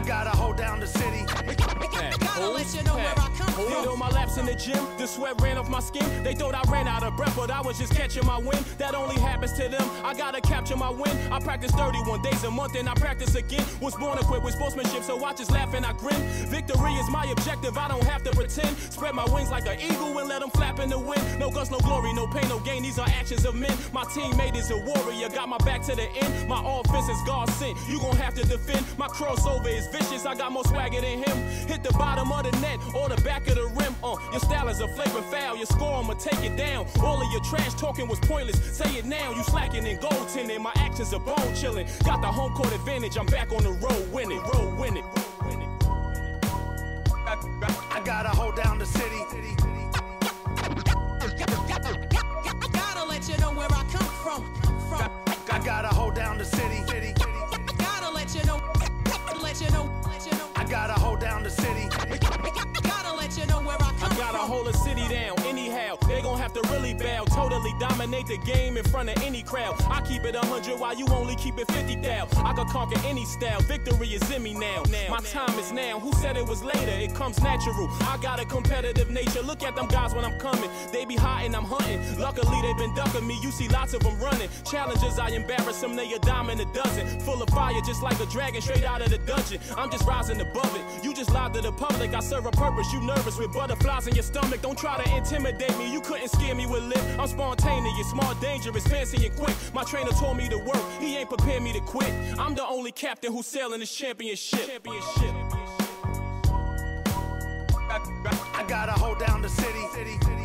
gotta hold down the city. Gotta let you know where I come from. Did all my laps in the gym, the sweat ran off my skin. They thought I ran out of breath, but I was just catching my wind. That only happens to them, I gotta capture my win. I practice 31 days a month and I practice again. Was born equipped with sportsmanship, so I just laugh and I grin. Victory is my objective, I don't have to pretend. Spread my wings like an eagle and let them flap in the wind. No guts, no glory, no pain, no gain, these are actions of men. My teammate is a warrior, got my back to the end. My offense is God sent, you gon' have to defend. My crossover is vicious, I got more swagger than him. Hit the bottom of the net or the back of the rim. Your style is a flavor foul, your score, I'ma take it down. All of your trash talking was pointless, say it now. You slacking in goaltending, my actions are bone chilling. Got the home court advantage, I'm back on the road winning, I gotta hold down the city. Gotta let you know where I come from. I gotta hold down the city. Gotta let you know. I gotta hold down the city. Gotta let you know where I come from. I gotta hold a city down, anyhow. They gon' have to really bow. Totally dominate the game in front of any crowd. I keep it 100 while you only keep it 50 thou. I could conquer any style, victory is in me now. My time is now, who said it was later? It comes natural, I got a competitive nature. Look at them guys when I'm coming, they be hot and I'm hunting. Luckily they been ducking me, you see lots of them running. Challenges, I embarrass them, they a dime in a dozen. Full of fire just like a dragon straight out of the dungeon. I'm just rising above it, you just lied to the public. I serve a purpose, you nervous with butterflies in your stomach. Don't try to intimidate me, you couldn't scare me with lip. I'm spontaneous, smart, dangerous, fancy and quick. My trainer told me to work, he ain't prepared me to quit. I'm the only captain who's sailing this championship. I gotta hold down the city.